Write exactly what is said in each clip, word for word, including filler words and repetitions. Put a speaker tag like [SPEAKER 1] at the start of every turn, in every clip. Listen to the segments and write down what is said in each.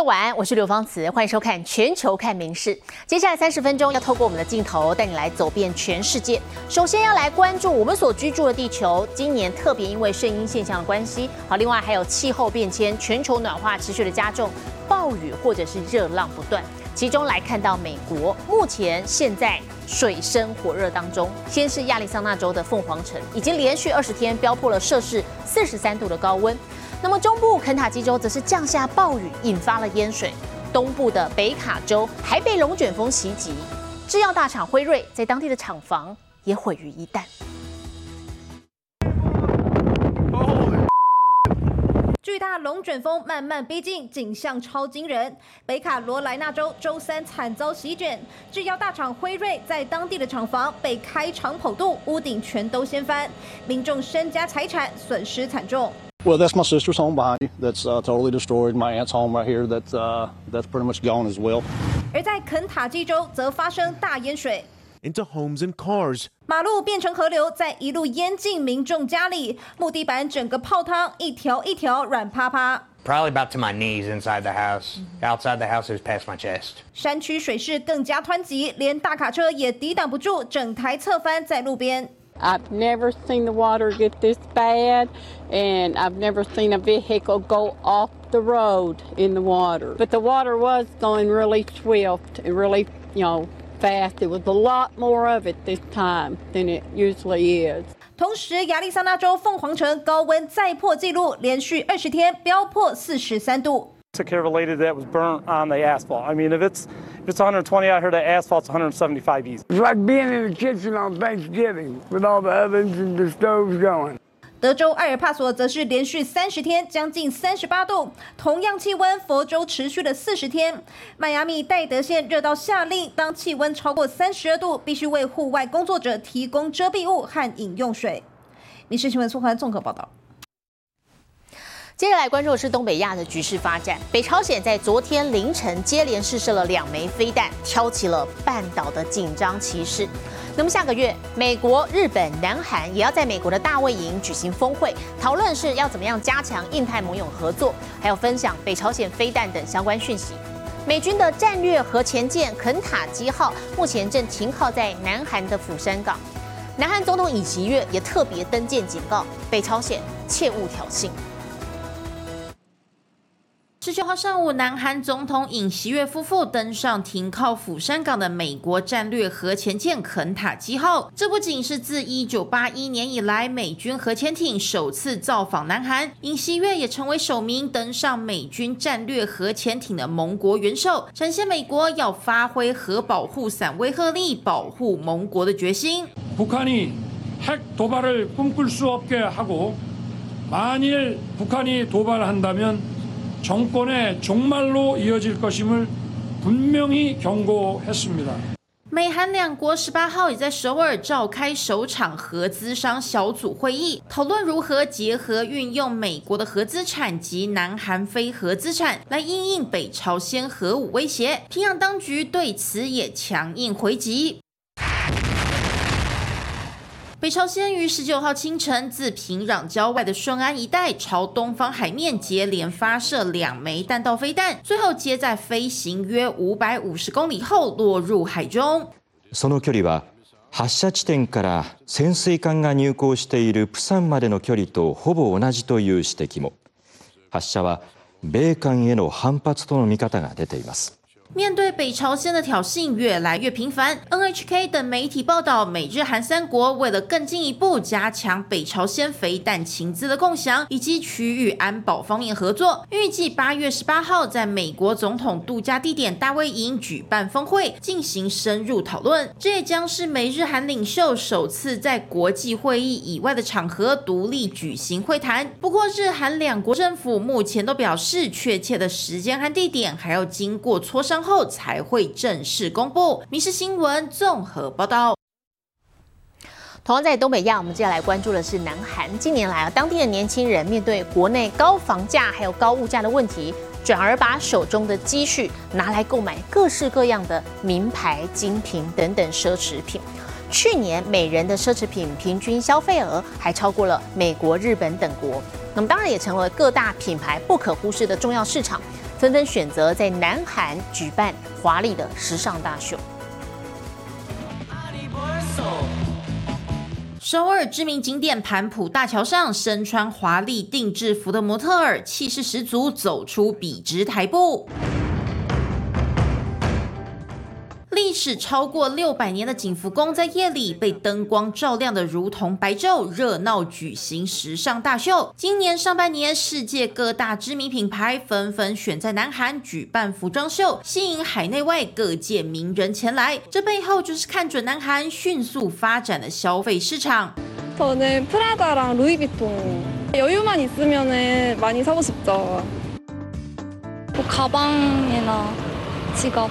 [SPEAKER 1] 众晚安，我是刘芳慈，欢迎收看《全球看名事》。接下来三十分钟要透过我们的镜头带你来走遍全世界。首先要来关注我们所居住的地球，今年特别因为圣婴现象的关系，好，另外还有气候变迁、全球暖化持续的加重，暴雨或者是热浪不断。其中来看到美国，目前现在水深火热当中。先是亚利桑那州的凤凰城，已经连续二十天飙破了摄氏四十三度的高温。那么中部肯塔基州则是降下暴雨，引发了淹水。东部的北卡州还被龙卷风袭击，制药大厂辉瑞在当地的厂房也毁于一旦。
[SPEAKER 2] 巨大龙卷风慢慢逼近，景象超惊人。北卡罗来纳州周三惨遭席卷，制药大厂辉瑞在当地的厂房被开肠剖肚，屋顶全都掀翻，民众身家财产损失惨重。
[SPEAKER 3] Well, that's my sister's home behind you. That's uh, totally destroyed. My aunt's home right here. That's uh, that's pretty much gone as well.
[SPEAKER 2] 而在肯塔基州则发生大淹水。
[SPEAKER 4] into homes and cars.
[SPEAKER 2] 马路变成河流，再一路淹进民众家里，木地板整个泡汤，一条一条软趴趴。
[SPEAKER 5] Probably about to my knees inside the house. Outside the house, it was past my chest.
[SPEAKER 2] 山区水势更加湍急，连大卡车也抵挡不住，整台侧翻在路边。
[SPEAKER 6] I've never seen the water get this bad, and I've never seen a vehicle go off the road in the water. But the water was going really swift and really, you know, fast. It was a lot more of it this time than it usually is.
[SPEAKER 2] 同时，亚利桑那州凤凰城高温再破纪录，连续二十天飙破四十三度。
[SPEAKER 7] Took care of a lady that was burnt on the asphalt. I mean, if it's if it's one hundred twenty out here, the asphalt's one hundred seventy-five easy.
[SPEAKER 8] It's like being in the kitchen on Thanksgiving with all the ovens and the stoves going.
[SPEAKER 2] 德州埃尔帕索则是连续三十天将近三十八度，同样气温，佛州持续了四十天。迈阿密戴德县热到下令，当气温超过三十二度，必须为户外工作者提供遮蔽物和饮用水。民事新闻苏环综合报道。
[SPEAKER 1] 接着来关注的是东北亚的局势发展。北朝鲜在昨天凌晨接连试射了两枚飞弹，挑起了半岛的紧张情势。那么下个月，美国、日本、南韩也要在美国的大卫营举行峰会，讨论是要怎么样加强印太盟友合作，还有分享北朝鲜飞弹等相关讯息。美军的战略核潜舰肯塔基号目前正停靠在南韩的釜山港。南韩总统尹锡悦也特别登舰警告北朝鲜切勿挑衅。
[SPEAKER 9] 十九号上午，南韩总统尹锡悦夫妇登上停靠釜山港的美国战略核潜舰肯塔基号。这不仅是自一九八一年以来美军核潜艇首次造访南韩，尹锡悦也成为首名登上美军战略核潜艇的盟国元首，展现美国要发挥核保护伞威慑力，保护盟国的决心。
[SPEAKER 10] 북한이 핵 도발을 꿈꿀 수 없게 하고 만일 북한이 도발한다면 정권의 종말로 이어질 것임을 분명히 경고했습니다.
[SPEAKER 9] 美韩两国十八号也在首尔召开首场核资商小组会议，讨论如何结合运用美国的核资产及南韩非核资产来因应北朝鲜核武威胁。平壤当局对此也强硬回击。北朝鲜于十九号清晨自平壤郊外的顺安一带朝东方海面接连发射两枚弹道飞弹，最后皆在飞行约五百五十公里后落入海中。
[SPEAKER 11] その距離は発射地点から潜水艦が入港しているプサンまでの距離とほぼ同じという指摘も。発射は米韓への反発との見方が出ています。
[SPEAKER 9] 面对北朝鲜的挑衅越来越频繁 ，N H K 等媒体报道，美日韩三国为了更进一步加强北朝鲜飞弹情资的共享以及区域安保方面合作，预计八月十八号在美国总统度假地点大卫营举办峰会，进行深入讨论。这也将是美日韩领袖首次在国际会议以外的场合独立举行会谈。不过，日韩两国政府目前都表示，确切的时间和地点还要经过磋商后才会正式公布。民视新闻综合报道。
[SPEAKER 1] 同样在东北亚，我们接下来关注的是南韩。近年来啊，当地的年轻人面对国内高房价还有高物价的问题，转而把手中的积蓄拿来购买各式各样的名牌、精品等等奢侈品。去年每人的奢侈品平均消费额还超过了美国、日本等国，那么当然也成为各大品牌不可忽视的重要市场。 纷纷选择在南韩举办华丽的时尚大秀。
[SPEAKER 9] 首尔知名景点盘浦大桥上，身穿华丽定制服的模特儿气势十足走出笔直台步。历史超过六百年的景福宫在夜里被灯光照亮的如同白昼，热闹举行时尚大秀。今年上半年，世界各大知名品牌纷纷选在南韩举办服装秀，吸引海内外各界名人前来。这背後就是看准南韩迅速发展的消费市场。
[SPEAKER 12] 저는 프라다랑 루이비통 여유만 있으면은 많이 사고 싶죠. 뭐 가방이나 지갑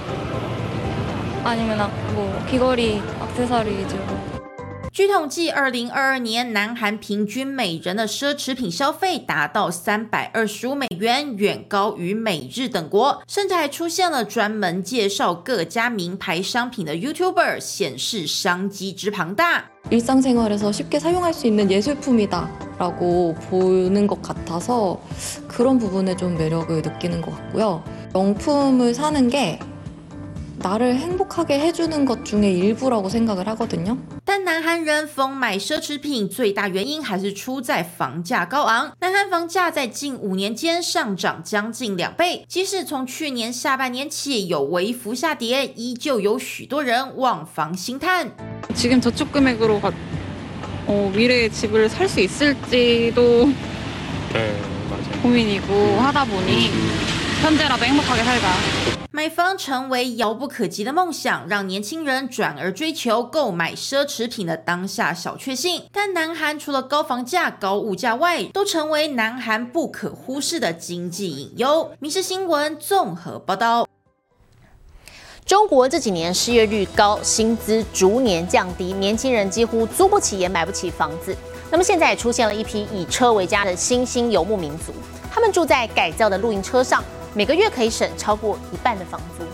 [SPEAKER 12] 아니면 뭐 귀걸이, 액세서리 위주로.
[SPEAKER 9] 据统计，二零二二年南韩平均每人的奢侈品消费达到三百二十五美元，远高于美日等国，甚至还出现了专门介绍各家名牌商品的 YouTuber， 显示商机之庞大。
[SPEAKER 12] 일상생활에서 쉽게 사용할 수 있는 예술품이다라고 보는 것 같아서 그런 부분에 좀 매력을 느끼는 것 같고요. 명품을 사는 게 나를 행복하게 해주는 것 중에 일부라고 생각을 하거든요.
[SPEAKER 9] 但南韩人疯买奢侈品最大原因还是出在房价高昂。南韩房价在近五年间上涨将近两倍，即使从去年下半年起有微幅下跌，依旧有许多人望房兴叹。
[SPEAKER 12] 지금 저축 금액으로 어, 미래에 집을 살 수 있을지도 네, 맞아요. 고민이고 하다 보니 현재라도 행복하게 살자.
[SPEAKER 9] 买房成为遥不可及的梦想，让年轻人转而追求购买奢侈品的当下小确幸。但南韩除了高房价、高物价外，都成为南韩不可忽视的经济隐忧。民视新闻综合报道。
[SPEAKER 1] 中国这几年失业率高，薪资逐年降低，年轻人几乎租不起也买不起房子。那么现在也出现了一批以车为家的新兴游牧民族，他们住在改造的露营车上，每个月可以省超过一半的房租。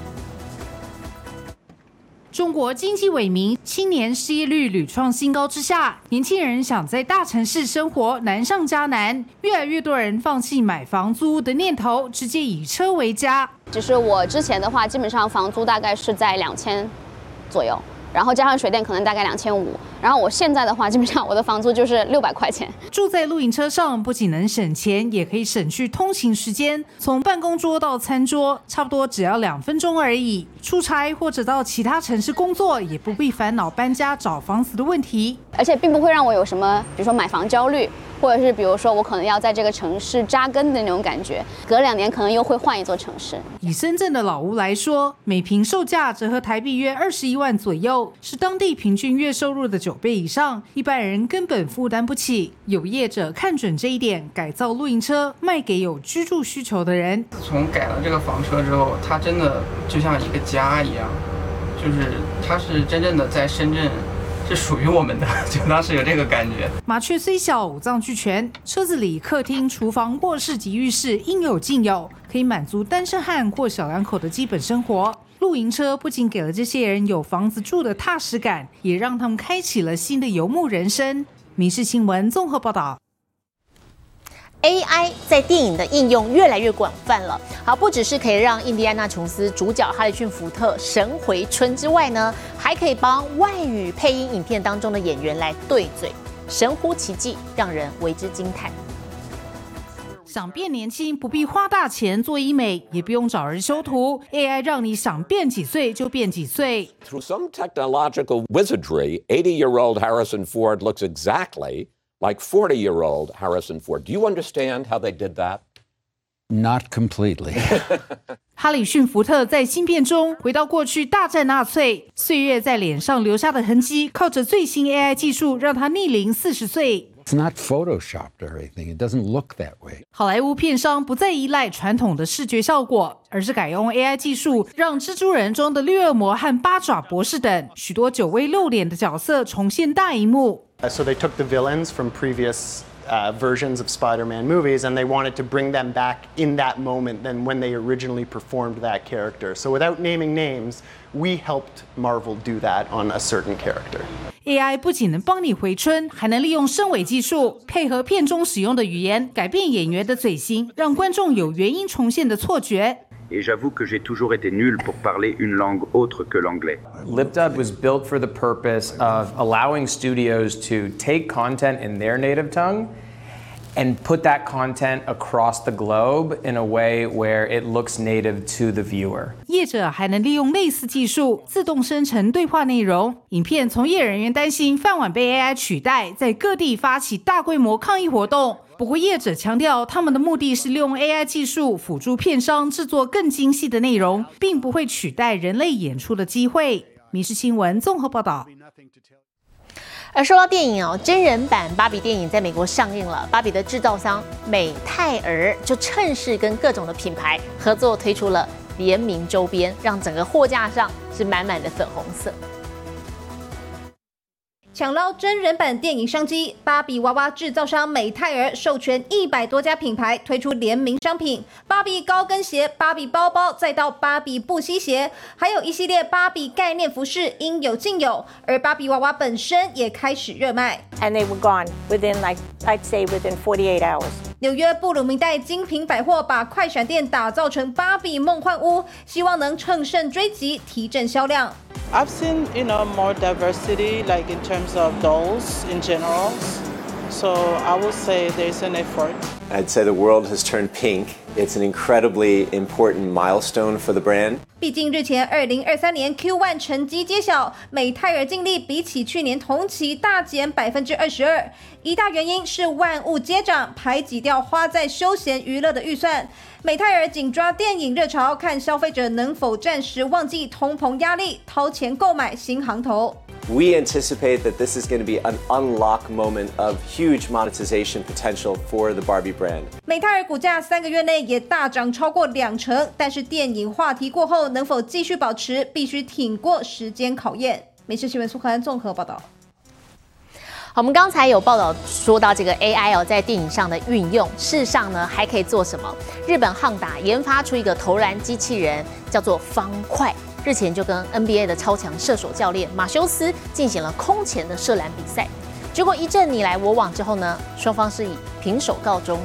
[SPEAKER 13] 中国经济萎靡，青年失业率屡创新高之下，年轻人想在大城市生活难上加难，越来越多人放弃买房租的念头，直接以车为家。
[SPEAKER 14] 就是我之前的话，基本上房租大概是在两千左右，然后加上水电可能大概两千五，然后我现在的话，基本上我的房租就是六百块钱。
[SPEAKER 13] 住在露营车上，不仅能省钱，也可以省去通勤时间。从办公桌到餐桌，差不多只要两分钟而已。出差或者到其他城市工作，也不必烦恼搬家找房子的问题，
[SPEAKER 14] 而且并不会让我有什么，比如说买房焦虑。 或者是比如说我可能要在这个城市扎根的那种感觉，隔两年可能又会换一座城市。
[SPEAKER 13] 以深圳的老屋来说，每坪售价折合台币约二十一万左右，是当地平均月收入的九倍以上，一般人根本负担不起。有业者看准这一点，改造露营车卖给有居住需求的人。
[SPEAKER 15] 自从改了这个房车之后，它真的就像一个家一样，就是它是真正的在深圳。 是属于我们的，就当时有这个感觉。
[SPEAKER 13] 麻雀虽小，五脏俱全，车子里客厅、厨房、卧室及浴室应有尽有，可以满足单身汉或小两口的基本生活。露营车不仅给了这些人有房子住的踏实感，也让他们开启了新的游牧人生。民视新闻综合报道。
[SPEAKER 1] A I 在电影的应用越来越广泛了。好，不只是可以让印第安纳琼斯主角哈里逊福特神回春之外呢，还可以帮外语配音影片当中的演员来对嘴，神乎其技，让人为之惊叹。
[SPEAKER 13] 想变年轻，不必花大钱做医美，也不用找人修图 ，A I 让你想变几岁就变几岁。
[SPEAKER 16] Through some technological wizardry, eighty-year-old Harrison Ford looks exactly like forty-year-old Harrison Ford. Do you understand how they did that?
[SPEAKER 17] Not completely.
[SPEAKER 13] 哈里逊福特在新片中回到过去大战纳粹，岁月在脸上留下的痕迹，靠着最新 A I 技术让他逆龄四十岁。
[SPEAKER 17] It's not photoshopped or anything. It doesn't look that way.
[SPEAKER 13] 好莱坞片商不再依赖传统的视觉效果，而是改用 A I 技术，让蜘蛛人中的绿恶魔和八爪博士等许多久未露脸的角色重现大荧幕。
[SPEAKER 18] So they took the villains from previous uh, versions of Spider-Man movies and they wanted to bring them back in that moment than when they originally performed that character. So without naming names, we helped Marvel do that on a certain character.
[SPEAKER 13] A I 不仅能帮你回春，还能利用声尾技术配合片中使用的语言，改变演员的嘴型，让观众有原音重现的错觉。
[SPEAKER 19] Et j'avoue que j'ai toujours été nul pour parler une langue autre que l'anglais.
[SPEAKER 20] LipDub was built for the purpose of allowing studios to take content in their native tongue and put that content across the globe in a way where it looks native to the viewer.
[SPEAKER 13] 业者还能利用类似技术自动生成对话内容。影片从业人员担心饭碗被 A I 取代，在各地发起大规模抗议活动。不过业者强调，他们的目的是利用 A I 技术辅助片商制作更精细的内容，并不会取代人类演出的机会。民视新闻综合报道。
[SPEAKER 1] 而说到电影哦，真人版芭比电影在美国上映了，芭比的制造商美泰儿就趁势跟各种的品牌合作推出了联名周边，让整个货架上是满满的粉红色。
[SPEAKER 2] 抢捞真人版电影商机，芭比娃娃制造商美泰儿授权一百多家品牌推出联名商品，芭比高跟鞋、芭比包包，再到芭比布吸鞋，还有一系列芭比概念服饰，应有尽有。而芭比娃娃本身也开始热卖
[SPEAKER 21] ，and they were gone within like I'd say within forty-eight hours.
[SPEAKER 2] 纽约布鲁明代精品百货把快闪店打造成芭比梦幻屋，希望能乘胜追击，提振销量。
[SPEAKER 22] I've seen, you know, more diversity, like in terms of dolls in general. So I will say there's an effort.
[SPEAKER 23] I'd say the world has turned pink. It's an incredibly important milestone for the brand.
[SPEAKER 2] 毕竟日前二零二三年 Q 一 成绩揭晓，美泰尔净利比起去年同期大减百分之二十二，一大原因是万物皆涨，排挤掉花在休闲娱乐的预算。美泰尔紧抓电影热潮，看消费者能否暂时忘记通膨压力，掏钱购买新行头。
[SPEAKER 23] We anticipate that this is going to be an unlock moment of huge monetization potential for the Barbie brand.
[SPEAKER 2] 美泰尔股价三个月内也大涨超过两成，但是电影话题过后能否继续保持，必须挺过时间考验。美视新闻苏涵综合报道。
[SPEAKER 1] 好，我们刚才有报道说到这个 A I 哦，在电影上的运用，事实上呢还可以做什么？日本汉达研发出一个投篮机器人，叫做方块。日前就跟 N B A 的超强射手教练马修斯进行了空前的射篮比赛，结果一阵你来我往之后呢，双方是以平手告终。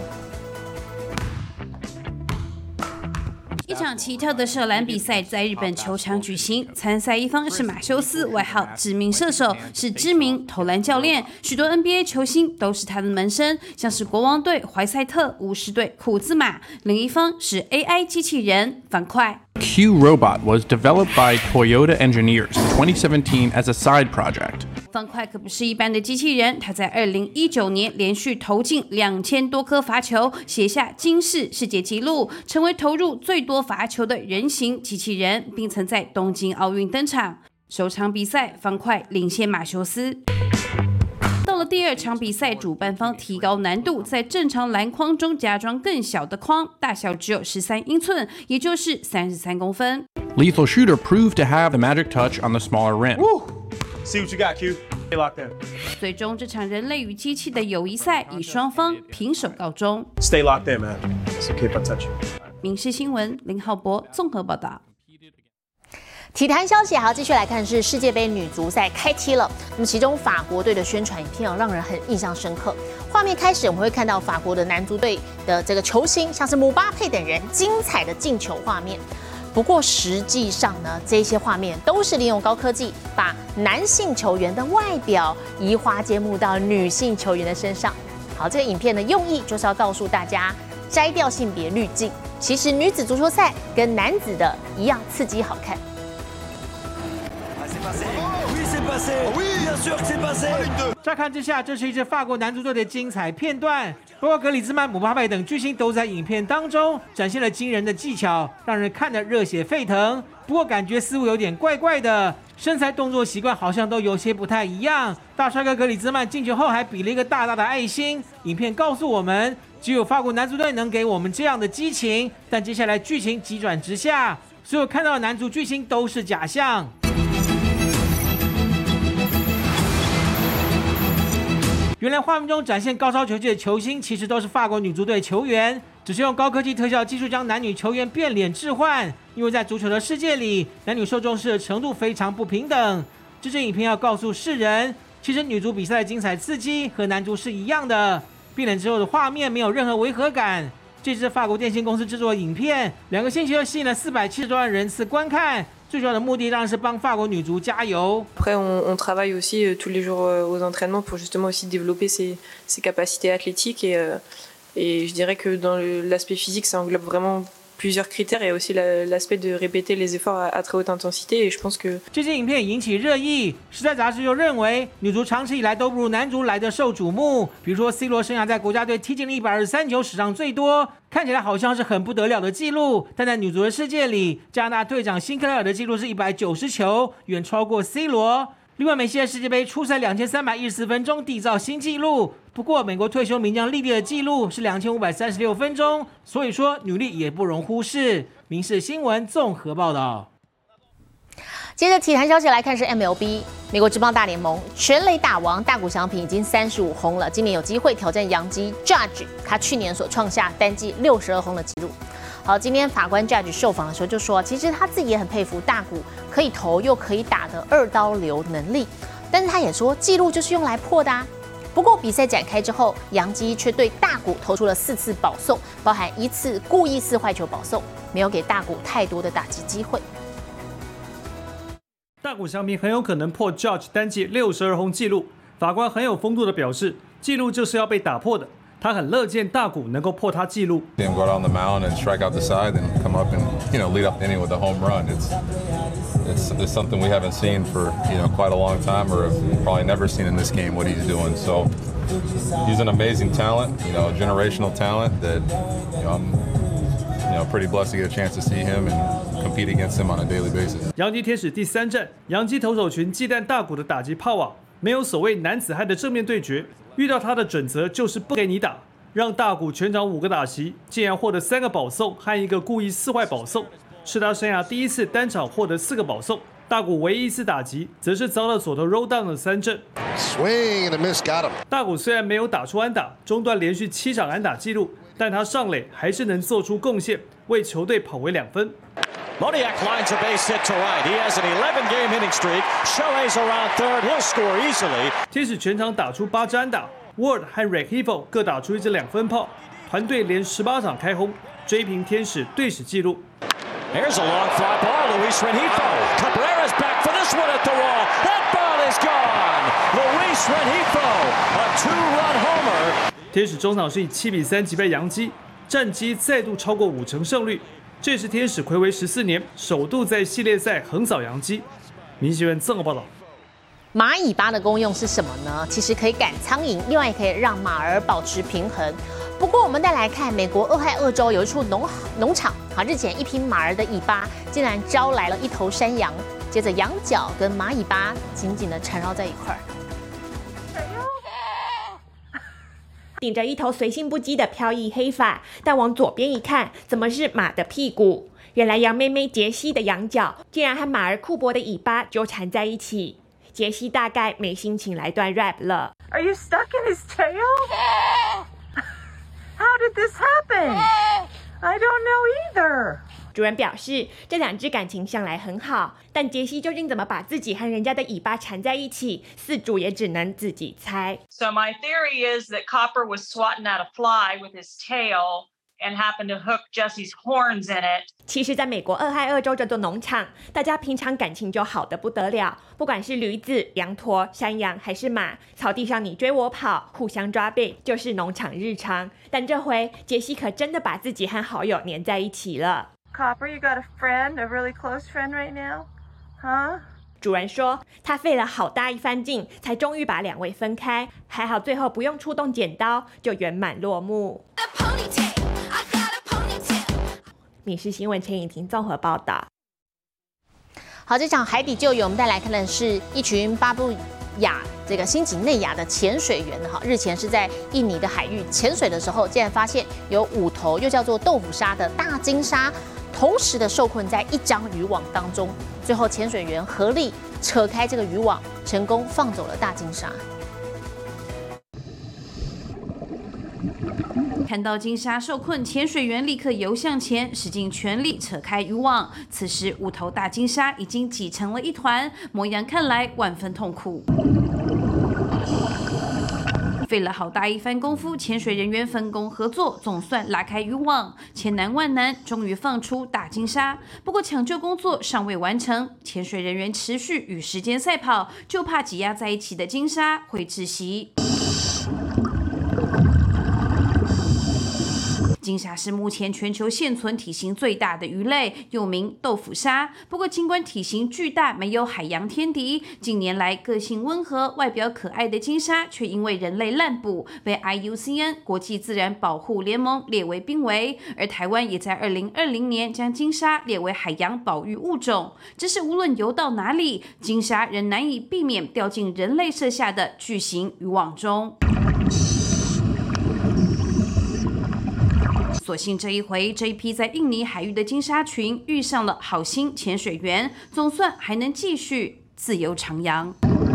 [SPEAKER 9] 一场奇特的射篮比赛在日本球场举行，参赛一方是马修斯，外号知名射手，是知名投篮教练，许多 N B A 球星都是他的门生，像是国王队怀赛特、巫师队库兹马。另一方是 A I 机器人方块。
[SPEAKER 24] Q Robot was developed by Toyota engineers in twenty seventeen as a side project.
[SPEAKER 9] 方块可不是一般的机器人，他在二零一九年连续投进两千多颗罚球，写下金氏世界纪录，成为投入最多罚球的人形机器人，并曾在东京奥运登场。首场比赛，方块领先马修斯。到了第二场比赛，主办方提高难度，在正常篮筐中加装更小的框，大小只有十三英寸，也就是三十三公分。
[SPEAKER 24] Lethal Shooter proved to have the magic touch on the smaller rim.
[SPEAKER 4] Woo! See what you got, Q. Stay locked in.
[SPEAKER 9] 最终，这场人类与机器的友谊赛以双方平手告终。
[SPEAKER 4] Stay locked in, man. It's okay if I touch you.
[SPEAKER 9] 民视新闻林浩博综合报道。
[SPEAKER 1] 体坛消息还要继续来看，是世界杯女足赛开踢了。那么其中法国队的宣传影片哦，让人很印象深刻。画面开始，我们会看到法国的男足队的这个球星，像是姆巴佩等人精彩的进球画面。不过实际上呢，这些画面都是利用高科技，把男性球员的外表移花接木到女性球员的身上。好，这个影片的用意就是要告诉大家，摘掉性别滤镜。其实女子足球赛跟男子的一样刺激好看。
[SPEAKER 25] 乍看之下，这是一支法国男足队的精彩片段。不过格里兹曼、姆巴佩等巨星都在影片当中展现了惊人的技巧，让人看得热血沸腾。不过感觉似乎有点怪怪的，身材动作习惯好像都有些不太一样。大帅哥格里兹曼进球后还比了一个大大的爱心。影片告诉我们，只有法国男足队能给我们这样的激情。但接下来剧情急转直下，所有看到的男足巨星都是假象。原来画面中展现高超球技的球星，其实都是法国女足队球员，只是用高科技特效技术将男女球员变脸置换。因为在足球的世界里，男女受重视的程度非常不平等。这支影片要告诉世人， 其实女足比赛的精彩刺激和男足是一样的，变脸之后的画面没有任何违和感。这支法国电信公司制作的影片，两个星期就吸引了四百七十多万人次观看。最主要的目的当然是帮法国女足加油。
[SPEAKER 3] Après, on, on travaille aussi euh, tous les jours euh, aux entraînements pour justement aussi développer ses, ses capacités athlétiques et, euh, et je dirais que dans le, l'aspect physique, ça englobe vraiment plusieurs critères et aussi la, l'aspect de répéter les efforts à, à très haute intensité et je pense que
[SPEAKER 25] 这支影片引起热议，时代杂志就认为女足长期以来都不如男足来的受瞩目。比如说 C 罗生涯在国家队踢进了一百二十三球，史上最多，看起来好像是很不得了的记录，但在女足的世界里，加拿大队长辛克莱尔的记录是一百九十球，远超过 C 罗。另外，梅西在世界杯初赛两千三百一十四分钟缔造新纪录。不过，美国退休名将莉莉的纪录是两千五百三十六分钟，所以说女力也不容忽视。民视新闻综合报道。接着体坛消息来看是 M L B 美国职棒大联盟全垒打王大谷翔平已经三十五轰了，今年有机会挑战洋基 Judge 他去年所创下单季六十二轰的纪录。好，今天法官 Judge 受访的时候就说，其实他自己也很佩服大谷可以投又可以打的二刀流能力，但是他也说纪录就是用来破的啊。不过比赛展开之后，洋基却对大谷投出了四次保送，包含一次故意四坏球保送，没有给大谷太多的打击机会。
[SPEAKER 5] 大谷翔平很有可能破 Judge 单季六十二轰纪录，法官很有风度的表示，纪录就是要被打破的。他很乐见大谷能够破他纪录。
[SPEAKER 6] Him go out on the mound and strike out the side and come up and you know lead up the inning with a home run. It's it's it's something we haven't seen for you know quite a long time, or have probably never seen in this game what he's doing. So he's an amazing talent, you know, generational talent that you know I'm you know pretty blessed to get a chance to see him and compete against him on a daily basis.
[SPEAKER 5] 洋基天使第三战，洋基投手群忌惮大谷的打击炮网，没有所谓男子汉的正面对决。遇到他的准则就是不给你打，让大谷全场五个打席，竟然获得三个保送和一个故意四坏保送，是他生涯第一次单场获得四个保送。大谷唯一一次打击，则是遭到左投 roll down 的三振。
[SPEAKER 7] Swing and a miss, got him.
[SPEAKER 5] 大谷虽然没有打出安打，中断连续七场安打纪录，但他上垒还是能做出贡献，为球队跑回两分。
[SPEAKER 8] Moniak lines a base hit to right. He has an eleven-game hitting streak. Shohei's around third. He'll score easily.
[SPEAKER 5] 天使全场打出八支安打 ，Ward 和 Rengifo 各打出一支两分炮，团队连十八场开轰，追平天使队史纪录。
[SPEAKER 8] Here's a long fly ball. Luis Rengifo. Cabrera's back for this one at the wall. That ball is gone. Luis Rengifo, a two-run homer.
[SPEAKER 5] 天使中场是以七比三击败洋基，战绩再度超过五成胜率。这是天使睽违十四年首度在系列赛横扫洋基。民新闻综合报道。
[SPEAKER 1] 马尾巴的功用是什么呢？其实可以赶苍蝇，另外也可以让马儿保持平衡。不过我们再来看美国俄亥俄州有一处农农场，好，日前一匹马儿的尾巴竟然招来了一头山羊，接着羊角跟马尾巴紧紧的缠绕在一块儿。
[SPEAKER 26] 顶着一头随性不羁的飘逸黑发，但往左边一看，怎么是马的屁股？原来羊妹妹杰西的羊角竟然和马儿库珀的尾巴纠缠在一起。杰西大概没心情来段 rap 了。
[SPEAKER 21] Are you stuck in his tail? How did this happen? I don't know either.
[SPEAKER 26] 主人表示，这两只感情向来很好，但杰西究竟怎么把自己和人家的尾巴缠在一起，饲主也只能自己猜。
[SPEAKER 27] So my theory is that Copper was swatting at a fly with his tail and happened to hook Jesse's horns in it.
[SPEAKER 26] 其实，在美国俄亥俄州这座农场，大家平常感情就好得不得了，不管是驴子、羊驼、山羊还是马，草地上你追我跑，互相抓背，就是农场日常。但这回，杰西可真的把自己和好友黏在一起了。
[SPEAKER 21] Copper, you got a friend, a really close friend right now? Huh?
[SPEAKER 26] 主人说，他费了好大一番劲，才终于把两位分开，还好最后不用出动剪刀，就圆满落幕。民视新闻陈颖婷综合报道。
[SPEAKER 1] 好，这场海底救援，我们再来看的是一群巴布亚这个新几内亚的潜水员哈，日前是在印尼的海域潜水的时候，竟然发现有五头又叫做豆腐鲨的大金鲨，同时的受困在一张渔网当中。最后潜水员合力扯开这个渔网，成功放走了大金鲨。
[SPEAKER 9] 看到金鲨受困，潜水员立刻游向前，使尽全力扯开渔网。此时，五头大金鲨已经挤成了一团，模样看来万分痛苦。 费了好大一番功夫，潜水人员分工合作，总算拉开渔网，千难万难，终于放出大金鲨。不过抢救工作尚未完成，潜水人员持续与时间赛跑，就怕挤压在一起的金鲨会窒息。金鲨是目前全球现存体型最大的鱼类，又名豆腐鲨。不过，尽管体型巨大，没有海洋天敌，近年来个性温和、外表可爱的金鲨，却因为人类滥捕，被 I U C N 国际自然保护联盟列为濒危。而台湾也在二零二零年将金鲨列为海洋保育物种。只是无论游到哪里，金鲨仍难以避免掉进人类设下的巨型渔网中。所幸这一回，这一批在印尼海域的金鲨群遇上了好心潜水员，总算还能继续自由徜徉。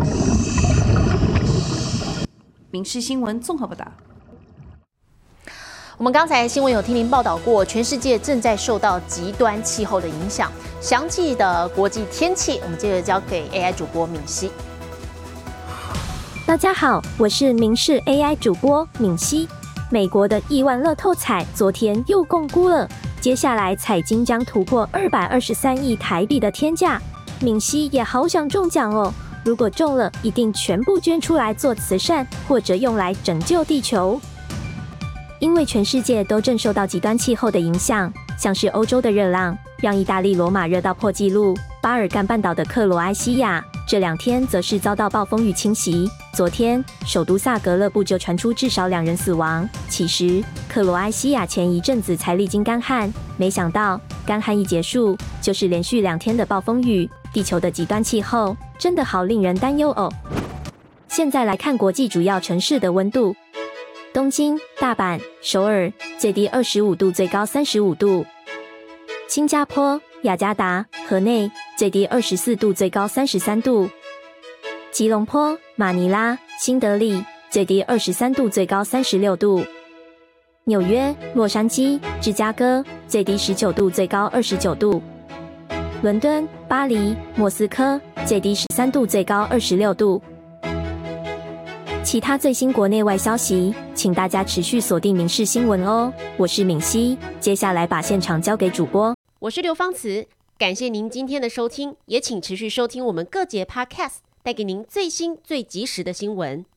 [SPEAKER 9] 民视新闻综合报道。
[SPEAKER 1] 我们刚才新闻有听您报道过，全世界正在受到极端气候的影响。详细的国际天气，我们接着交给 A I 主播敏熙。
[SPEAKER 10] 大家好，我是民视 A I 主播敏熙。美国的亿万乐透彩昨天又共估了，接下来彩金将突破二百二十三亿台币的天价。敏熙也好想中奖哦，如果中了，一定全部捐出来做慈善，或者用来拯救地球。因为全世界都正受到极端气候的影响，像是欧洲的热浪让意大利罗马热到破纪录，巴尔干半岛的克罗埃西亚这两天则是遭到暴风雨侵袭。昨天，首都萨格勒布就传出至少两人死亡。其实，克罗埃西亚前一阵子才历经干旱，没想到干旱一结束，就是连续两天的暴风雨。地球的极端气候真的好令人担忧哦。现在来看国际主要城市的温度：东京、大阪、首尔，最低二十五度，最高三十五度；新加坡、雅加达、河内，最低二十四度，最高三十三度；吉隆坡、马尼拉、新德里，最低二十三度，最高三十六度；纽约、洛杉矶、芝加哥，最低十九度，最高二十九度；伦敦、巴黎、莫斯科，最低十三度，最高二十六度。其他最新国内外消息，请大家持续锁定民视新闻哦。我是敏熙，接下来把现场交给主播。
[SPEAKER 11] 我是刘芳慈，感谢您今天的收听，也请持续收听我们各节 Podcast， 带给您最新最及时的新闻。